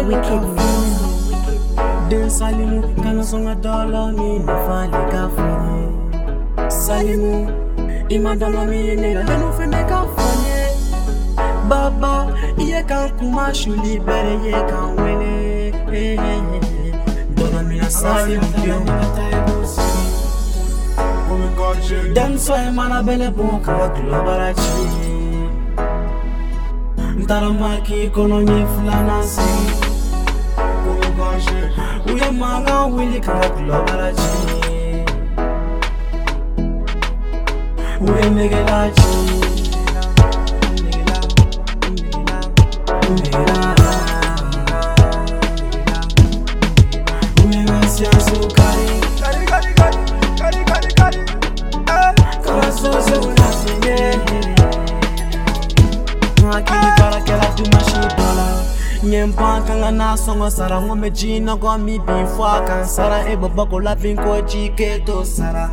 Den salimu kana songa dollar mi na fali ka fone. Salimu ima dollar mi ne la denu fene ka fone. Baba iye kan kuma shuli bere ye kan wele. Dollar mi na salimu yo. Dem so e mana bele boka global achi. Ntaramaki kono nye fulana si. Uye manga wili kanga global achi. Uye megela achi. Uye ngasya sukari. Kama sose unasinye. Akili para kela tumashidola. Nyempa kanga na songo sara ngome jina kwa mi bifwa kansara ebo bako la vinko chiketo sara.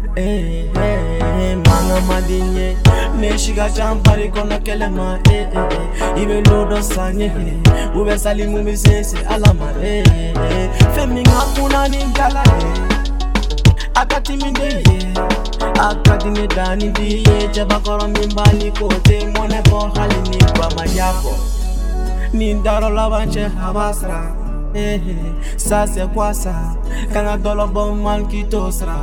Manga madinye neshiga champari kona kelema. Ibe lodo sanye ube salimu misese alama. Femi ngakuna ningala. Akati mindeye akati nedani diye jabakoro mimbali kote mone bo hali ni kwa mayako nindaro labanche habasra sase kwasa kanga dolo bo man kitosra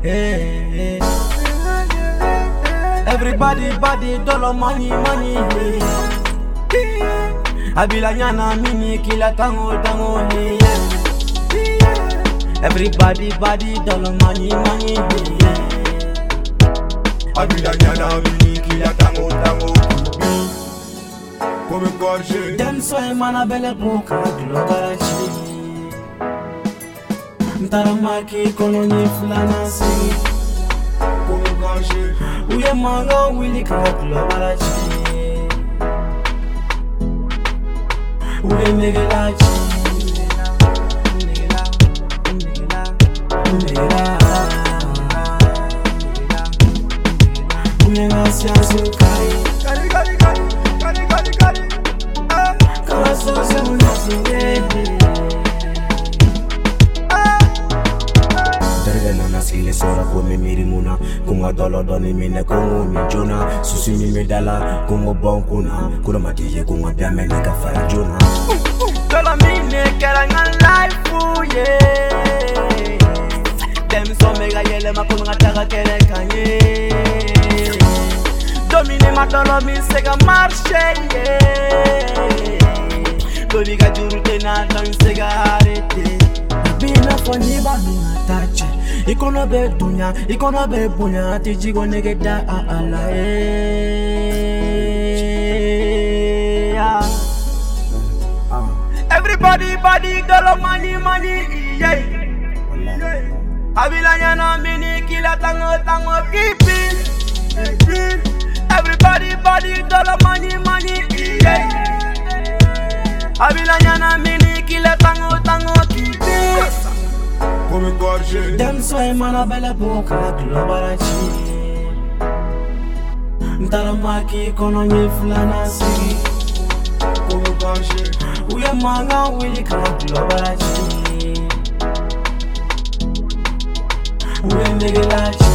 everybody body dolo money abila nyana mini kila tango everybody body dollar money Abila nyana mini kila tango Come gorge Dem so e mana bele boka global achi. Ntaramaki kono nye fulana si. Come gorge Uye manga wili kanga global achi. Uye megela achi. Uye ngasya sukari. Kama sose unasinye. Darga nana sile sora ko me miri muna kunga dolo doni mine kongo mi jona susi mi medala kongo bon kuna matiye kunga bia me ka fara jona Dolo mine kera ngan life yeah. Dem so mega yele makunga taka kere kanye. Domine ma dolo mi sega marche yeah. Dobiga juru tena tan sega arete. Bina foni ba bina tache. Ikono be dunya, ikono be bunya. Tijigo nege da ala Everybody body dolo money yeah. Abila nyana mini kila tango keepin. Everybody body dollar money yeah. Abila nyana mini kila tango keepin. Come gorge Dem so e mana bele boka global achi. Ntaramaki kono nye fulana si. Come gorge Uye manga wili kanga global achi. Uye megela achi.